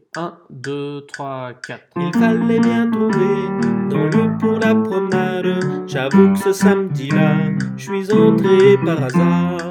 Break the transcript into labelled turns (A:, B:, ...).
A: 1, 2, 3, 4.
B: Il fallait bien trouver dans lieu pour la promenade. J'avoue que ce samedi-là, je suis entré par hasard.